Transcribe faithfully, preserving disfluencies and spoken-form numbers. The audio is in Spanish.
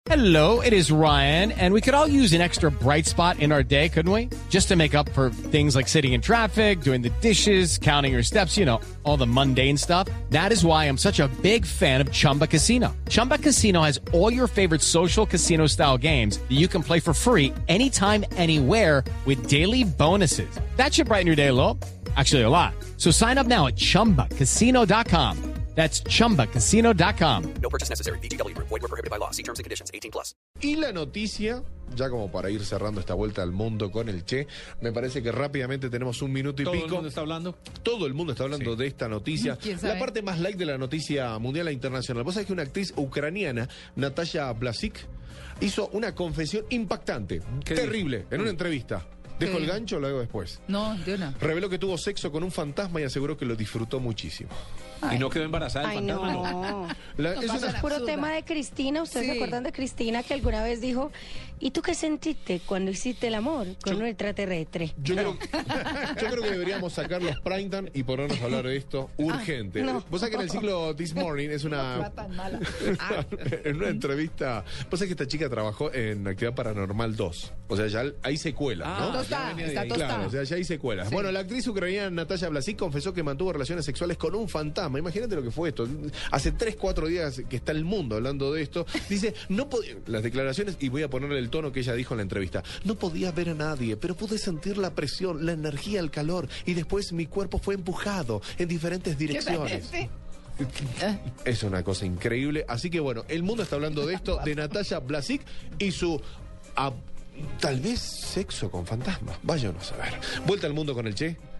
Hello, it is Ryan, and we could all use an extra bright spot in our day, couldn't we? Just to make up for things like sitting in traffic, doing the dishes, counting your steps, you know, all the mundane stuff. That is why I'm such a big fan of Chumba Casino. Chumba Casino has all your favorite social casino-style games that you can play for free anytime, anywhere with daily bonuses. That should brighten your day a little. Actually, a lot. So sign up now at chumba casino dot com. That's chumba casino dot com. No purchase necessary. V G W Group. Void where prohibited by law. See terms and conditions. eighteen plus. Y la noticia, ya como para ir cerrando esta vuelta al mundo con el Che, me parece que rápidamente tenemos un minuto y ¿Todo pico. el mundo está hablando? Todo el mundo está hablando Sí. de esta noticia. La parte más light de la noticia mundial e internacional. Vos sabés que una actriz ucraniana, Natasha Blasik, hizo una confesión impactante, terrible, dijo? en una entrevista. ¿Dejo el gancho o lo hago después? No, de una. Reveló que tuvo sexo con un fantasma y aseguró que lo disfrutó muchísimo. Y no quedó embarazada el Ay, fantasma, no. no. La- No es pasa una- nada. Puro tema de Cristina. ¿Ustedes Sí. se acuerdan de Cristina que alguna vez dijo, ¿y tú qué sentiste cuando hiciste el amor con un extraterrestre? Yo creo, yo creo que deberíamos sacar los primetime y ponernos a hablar de esto urgente. no. Vos sabés que en el ciclo This Morning es una... en una entrevista... Vos sabés que esta chica trabajó en Actividad Paranormal dos. O sea, ya hay secuelas, Ah, ¿no? tostada, ya venía de está ahí. tostada. Claro, o sea, ya hay secuelas. Bueno, la actriz ucraniana Natasha Blasik confesó que mantuvo relaciones sexuales con un fantasma. Imagínate lo que fue esto. Hace tres, cuatro días que está el mundo hablando de esto. Dice, no podía... Las declaraciones, y voy a ponerle el tono que ella dijo en la entrevista. No podía ver a nadie, pero pude sentir la presión, la energía, el calor. Y después mi cuerpo fue empujado en diferentes direcciones. Es una cosa increíble. Así que bueno, el mundo está hablando de esto, de Natasha Blasik y su... ah, tal vez sexo con fantasmas. Váyanos a ver. Vuelta al mundo con el Che.